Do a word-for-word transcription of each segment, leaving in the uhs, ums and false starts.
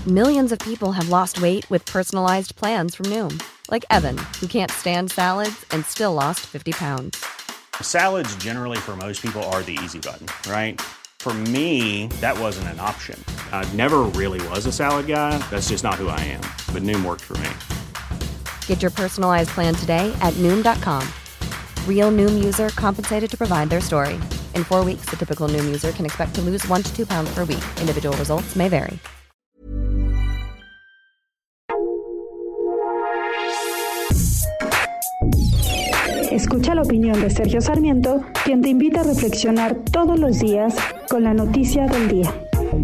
Millions of people have lost weight with personalized plans from Noom. Like Evan, who can't stand salads and still lost fifty pounds. Salads generally for most people are the easy button, right? For me, that wasn't an option. I never really was a salad guy. That's just not who I am. But Noom worked for me. Get your personalized plan today at Noom dot com. Real Noom user compensated to provide their story. In four weeks, the typical Noom user can expect to lose one to two pounds per week. Individual results may vary. Escucha la opinión de Sergio Sarmiento, quien te invita a reflexionar todos los días con la noticia del día.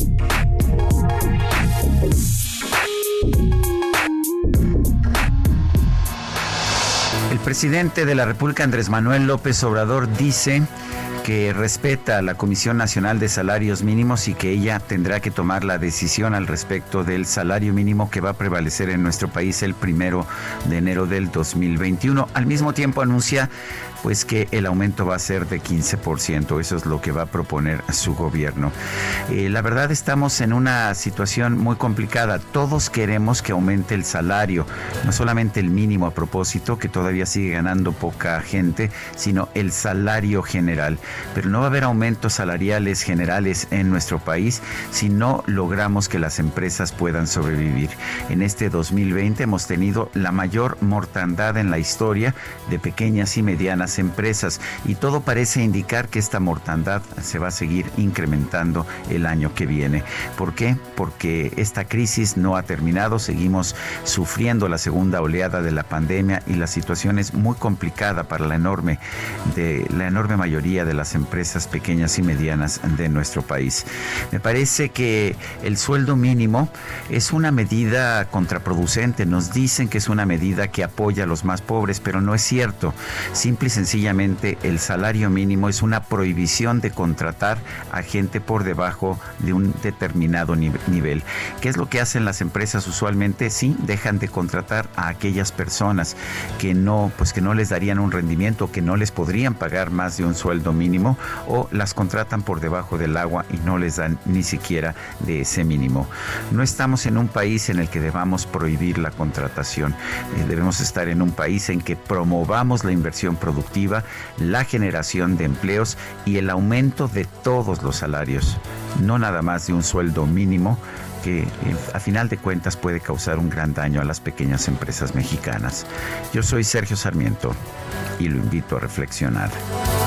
El presidente de la República, Andrés Manuel López Obrador, dice que respeta a la Comisión Nacional de Salarios Mínimos y que ella tendrá que tomar la decisión al respecto del salario mínimo que va a prevalecer en nuestro país el primero de enero del dos mil veintiuno. Al mismo tiempo anuncia pues que el aumento va a ser de quince por ciento. Eso es lo que va a proponer su gobierno. Eh, la verdad, estamos en una situación muy complicada. Todos queremos que aumente el salario, no solamente el mínimo a propósito, que todavía sigue ganando poca gente, sino el salario general. Pero no va a haber aumentos salariales generales en nuestro país si no logramos que las empresas puedan sobrevivir. En este dos mil veinte hemos tenido la mayor mortandad en la historia de pequeñas y medianas empresas y todo parece indicar que esta mortandad se va a seguir incrementando el año que viene. ¿Por qué? Porque esta crisis no ha terminado, seguimos sufriendo la segunda oleada de la pandemia y la situación es muy complicada para la enorme, de, la enorme mayoría de las empresas pequeñas y medianas de nuestro país. Me parece que el sueldo mínimo es una medida contraproducente. Nos dicen que es una medida que apoya a los más pobres, pero no es cierto. Simple y sencillamente el salario mínimo es una prohibición de contratar a gente por debajo de un determinado nivel. ¿Qué es lo que hacen las empresas usualmente? Sí, dejan de contratar a aquellas personas que no, pues que no les darían un rendimiento, que no les podrían pagar más de un sueldo mínimo, o las contratan por debajo del agua y no les dan ni siquiera de ese mínimo. No estamos en un país en el que debamos prohibir la contratación. Eh, debemos estar en un país en que promovamos la inversión productiva, la generación de empleos y el aumento de todos los salarios, no nada más de un sueldo mínimo que a final de cuentas puede causar un gran daño a las pequeñas empresas mexicanas. Yo soy Sergio Sarmiento y lo invito a reflexionar.